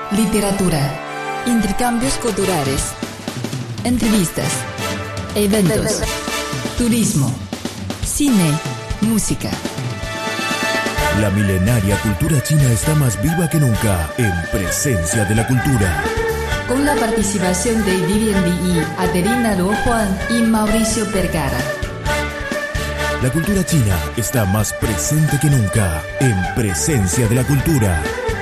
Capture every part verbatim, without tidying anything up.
literatura, intercambios culturales, entrevistas, eventos, turismo, cine, música. La milenaria cultura china está más viva que nunca en Presencia de la Cultura. Con la participación de Vivian Li, Adelina Luo Juan y Mauricio Vergara. La cultura china está más presente que nunca en Presencia de la Cultura.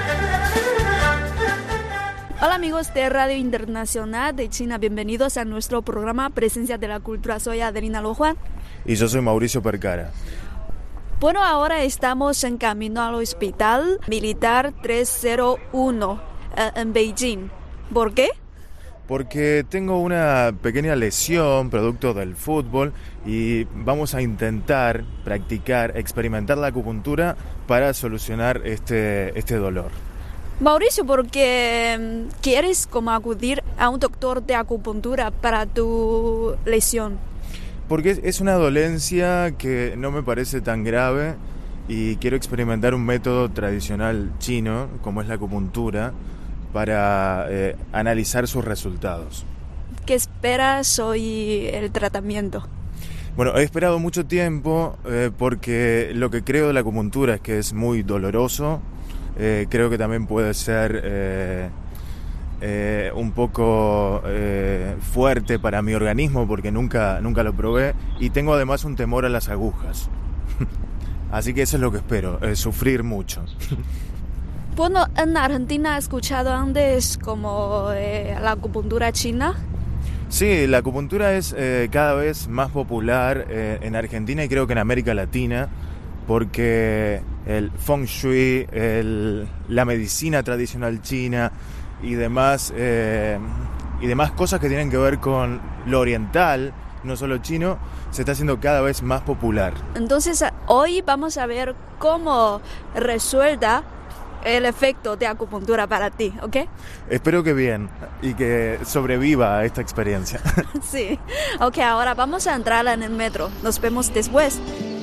Hola amigos de Radio Internacional de China, bienvenidos a nuestro programa Presencia de la Cultura. Soy Adelina Luo Juan. Y yo soy Mauricio Vergara. Bueno, ahora estamos en camino al Hospital Militar trescientos uno eh, en Beijing. ¿Por qué? Porque tengo una pequeña lesión producto del fútbol y vamos a intentar practicar, experimentar la acupuntura para solucionar este, este dolor. Mauricio, ¿por qué quieres como acudir a un doctor de acupuntura para tu lesión? Porque es una dolencia que no me parece tan grave y quiero experimentar un método tradicional chino, como es la acupuntura, para eh, analizar sus resultados. ¿Qué esperas hoy el tratamiento? Bueno, he esperado mucho tiempo eh, porque lo que creo de la acupuntura es que es muy doloroso. Eh, creo que también puede ser eh, eh, un poco eh, fuerte para mi organismo porque nunca, nunca lo probé y tengo además un temor a las agujas. Así que eso es lo que espero, eh, sufrir mucho. Bueno, en Argentina he escuchado antes como eh, la acupuntura china. Sí, la acupuntura es eh, cada vez más popular eh, en Argentina y creo que en América Latina, porque el feng shui, el, la medicina tradicional china y demás, eh, y demás cosas que tienen que ver con lo oriental, no solo chino, se está haciendo cada vez más popular. Entonces, hoy vamos a ver cómo resuelta el efecto de acupuntura para ti, ¿ok? Espero que bien y que sobreviva a esta experiencia. Sí, ok, ahora vamos a entrar en el metro. Nos vemos después.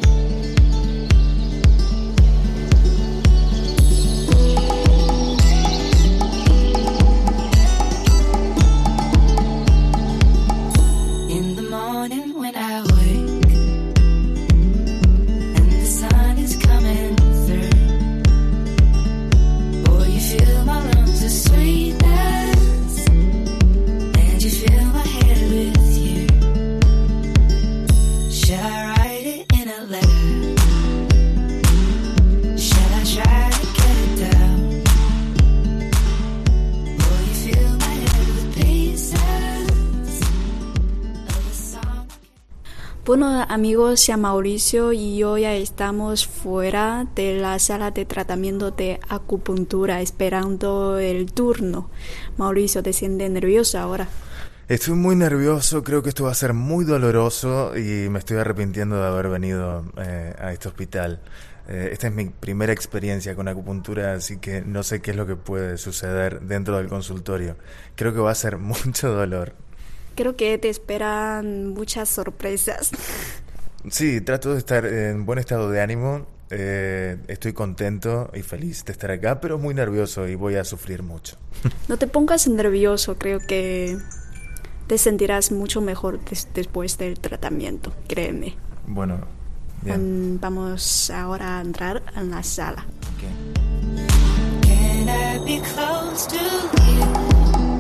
Bueno amigos, ya Mauricio y yo ya estamos fuera de la sala de tratamiento de acupuntura esperando el turno. Mauricio, ¿te sientes nervioso ahora? Estoy muy nervioso, creo que esto va a ser muy doloroso y me estoy arrepintiendo de haber venido eh, a este hospital. Eh, esta es mi primera experiencia con acupuntura, así que no sé qué es lo que puede suceder dentro del consultorio. Creo que va a ser mucho dolor. Creo que te esperan muchas sorpresas. Sí, trato de estar en buen estado de ánimo. Eh, estoy contento y feliz de estar acá, pero muy nervioso y voy a sufrir mucho. No te pongas nervioso, creo que te sentirás mucho mejor des- después del tratamiento, créeme. Bueno, bien. Um, vamos ahora a entrar en la sala. Okay. Can I be close to you?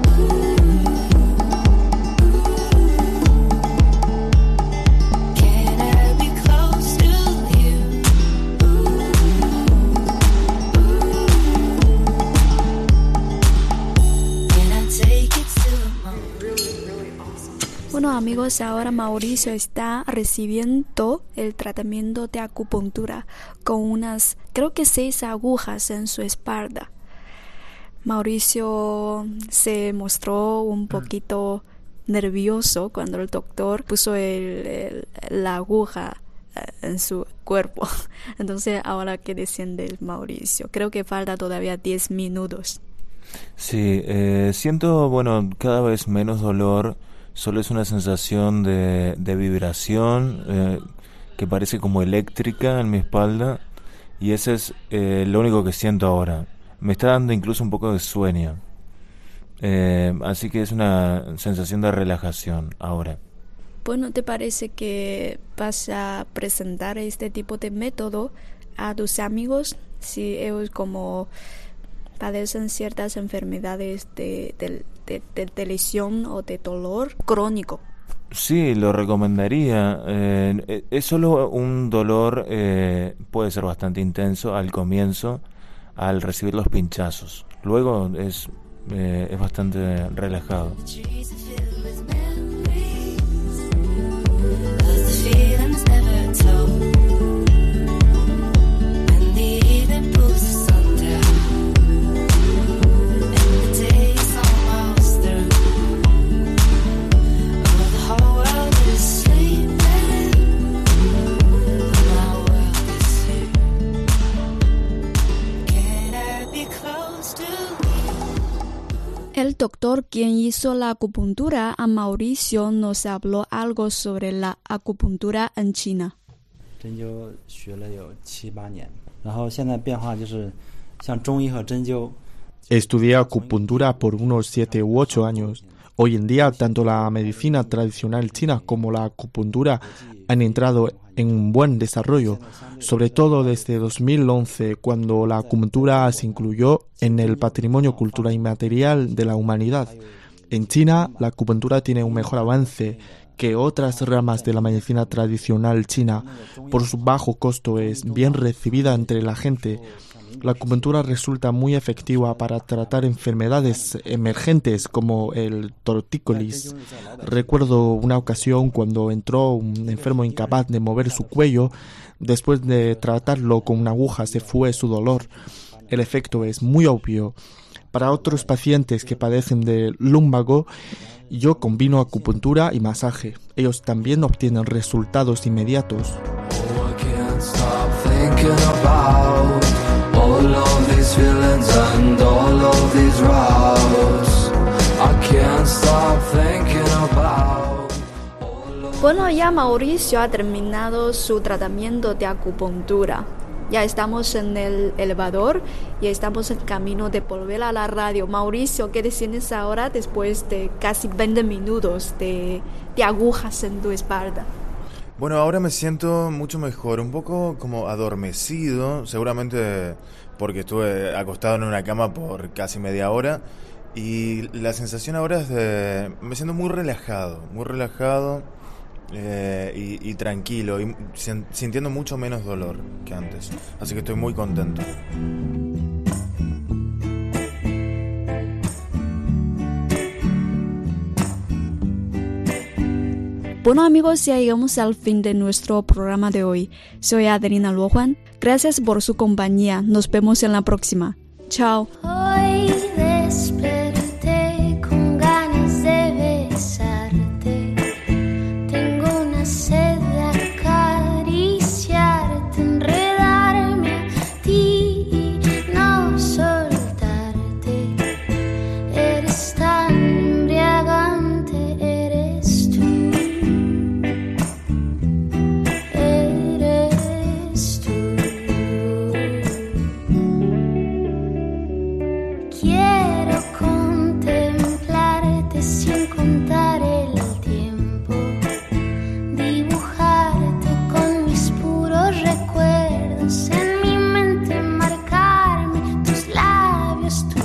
Bueno amigos, ahora Mauricio está recibiendo el tratamiento de acupuntura con unas, creo que seis agujas en su espalda. Mauricio se mostró un poquito nervioso cuando el doctor puso el, el, la aguja en su cuerpo. Entonces, ahora que desciende el Mauricio, creo que falta todavía diez minutos. Sí, eh, siento, bueno, cada vez menos dolor. Solo es una sensación de, de vibración eh, que parece como eléctrica en mi espalda, y ese es eh, lo único que siento ahora. Me está dando incluso un poco de sueño. Eh, así que es una sensación de relajación ahora. Bueno, ¿te parece que vas a presentar este tipo de método a tus amigos si ellos como padecen ciertas enfermedades de, de, de, de, de lesión o de dolor crónico? Sí, lo recomendaría. Eh, es solo un dolor, eh, puede ser bastante intenso al comienzo, al recibir los pinchazos. Luego es, eh, es bastante relajado. El doctor quien hizo la acupuntura a Mauricio nos habló algo sobre la acupuntura en China. Estudié acupuntura por unos siete u ocho años. Hoy en día, tanto la medicina tradicional china como la acupuntura han entrado en un buen desarrollo, sobre todo desde dos mil once, cuando la acupuntura se incluyó en el patrimonio cultural inmaterial de la humanidad. En China, la acupuntura tiene un mejor avance que otras ramas de la medicina tradicional china. Por su bajo costo es bien recibida entre la gente. La acupuntura resulta muy efectiva para tratar enfermedades emergentes como el tortícolis. Recuerdo una ocasión cuando entró un enfermo incapaz de mover su cuello. Después de tratarlo con una aguja se fue su dolor. El efecto es muy obvio. Para otros pacientes que padecen de lumbago, yo combino acupuntura y masaje. Ellos también obtienen resultados inmediatos. All of these feelings and all of these routes, I can't stop thinking about. Bueno, ya Mauricio ha terminado su tratamiento de acupuntura. Ya estamos en el elevador y estamos en camino de volver a la radio. Mauricio, ¿qué te sientes ahora después de casi veinte minutos de, de agujas en tu espalda? Bueno, ahora me siento mucho mejor, un poco como adormecido, seguramente porque estuve acostado en una cama por casi media hora, y la sensación ahora es de... me siento muy relajado, muy relajado eh, y, y tranquilo, y sintiendo mucho menos dolor que antes, así que estoy muy contento. Bueno amigos, ya llegamos al fin de nuestro programa de hoy. Soy Adelina Luojuan. Gracias por su compañía. Nos vemos en la próxima. Chao. Hoy desperté con ganas de besarte. Tengo una sed de acariciarte, enredarme a ti y no soltarte. Eres tan embriagante, eres tú. Quiero contemplarte sin contar el tiempo, dibujarte con mis puros recuerdos, en mi mente marcarme tus labios, tu